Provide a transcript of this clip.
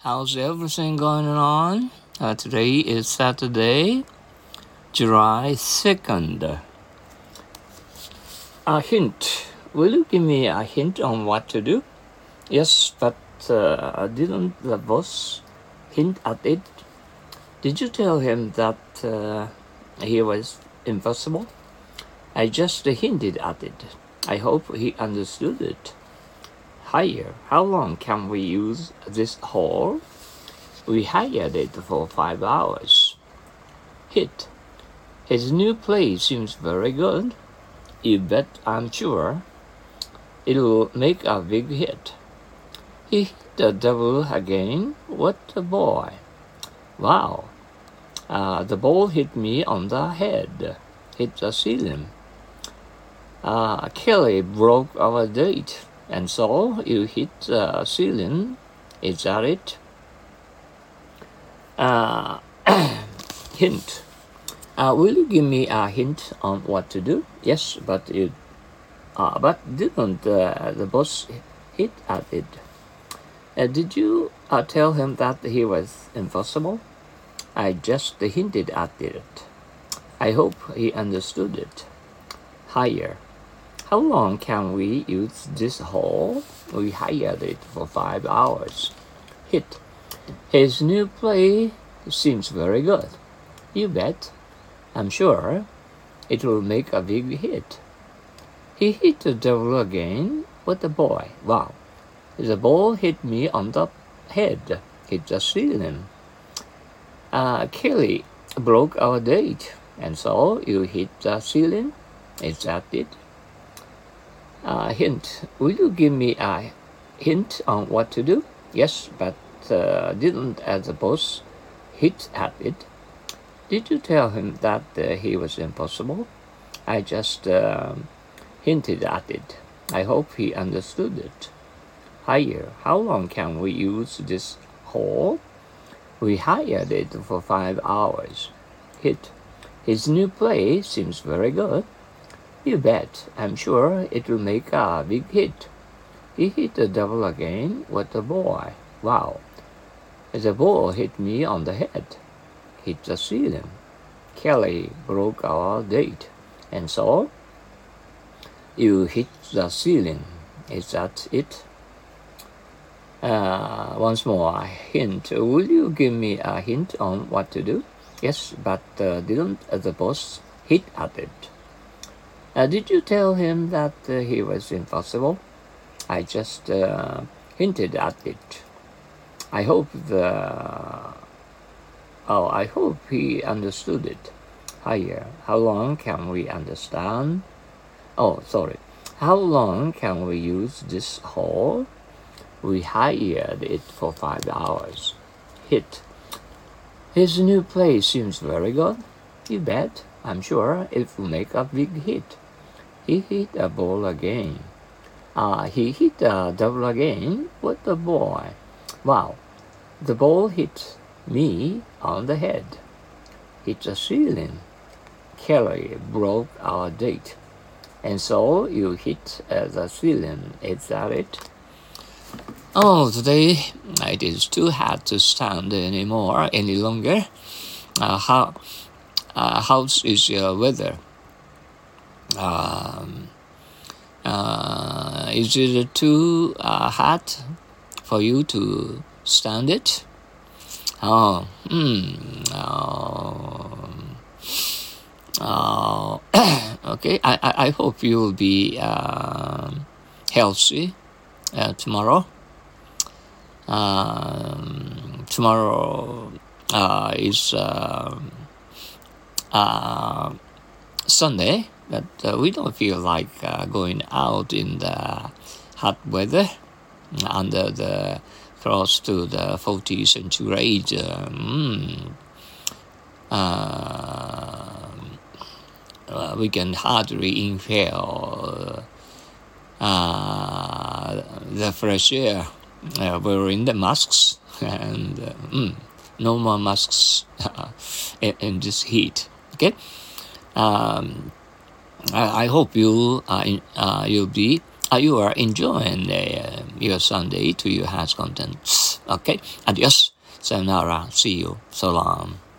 How's everything going on? Today is Saturday, July 2nd. A hint. Will you give me a hint on what to do? Yes, but didn't the boss hint at it? Did you tell him that he was impossible? I just hinted at it. I hope he understood it. Hire. How long can we use this hall? We hired it for 5 hours. Hit. His new play seems very good. You bet I'm sure it'll make a big hit. He hit the devil again. What a boy. Wow. The ball hit me on the head. Hit the ceiling. Kelly broke our date. And so you hit the ceiling. Is that it? Hint. Will you give me a hint on what to do? Yes, but didn't the boss hit at it? Did you tell him that he was impossible? I just hinted at it. I hope he understood it. Hire. How long can we use this hall? We hired it for 5 hours. Hit. His new play seems very good. You bet. I'm sure it will make a big hit. He hit the devil again. What a boy. Wow. The ball hit me on the head. Hit the ceiling. Kelly broke our date. And so you hit the ceiling? Is that it? Hint. Will you give me a hint on what to do? Yes, but didn't the boss hit at it? Did you tell him that he was impossible? I just hinted at it. I hope he understood it. Hire. How long can we use this hall? We hired it for 5 hours. Hit. His new play seems very good. You bet. I'm sure it will make a big hit. He hit the devil again. What a boy. Wow. The ball hit me on the head. Hit the ceiling. Kelly broke our date. And so you hit the ceiling. Is that it? Once more, hint. Will you give me a hint on what to do? Yes, but didn't the boss hit at it? Did you tell him that he was impossible? I just hinted at it. I hope he understood it. Higher. How long can we understand? How long can we use this hall? We hired it for 5 hours. Hit. His new play seems very good. You bet. I'm sure it will make a big hit. He hit a ball again. He hit a double again. What a boy. Wow. The ball hit me on the head. Hit the ceiling. Kelly broke our date. And so you hit the ceiling. Is that it? Oh, today it is too hot to stand any longer. How is your weather? Is it too hot for you to stand it? Okay, I hope you will be healthy tomorrow. Tomorrow is Sunday, but we don't feel like going out in the hot weather under the close to the 40 centigrade. We can hardly inhale the fresh air wearing the masks, and no more masks in this heat. Okay. I hope you'll be you are enjoying your Sunday to your heart's contents. Okay, adios, sayonara, see you, so long.